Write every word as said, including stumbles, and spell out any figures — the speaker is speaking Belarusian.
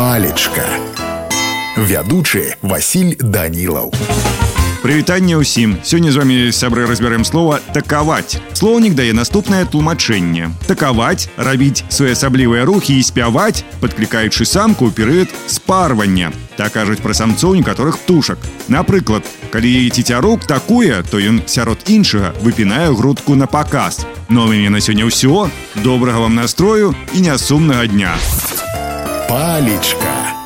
Палечка. Вядучы Васіль Данілаў. Прывітанне ўсім. Сёння з вами, сябры, разбярэм слова «такаваць». Слоўнік дае наступнае тлумачэнне. Такаваць – рабіць своеасаблівыя рухі і спяваць, падклікаючы самку ў перыяд спарвання. Так кажуць пра самцоў некаторых птушак. Напрыклад, калі цецярук такуе, то ён сярод іншага выпінае грудку на паказ. Ну а ў мяне на сёння ўсё. Добрага вам настрою і нясумнага дня. Палечка.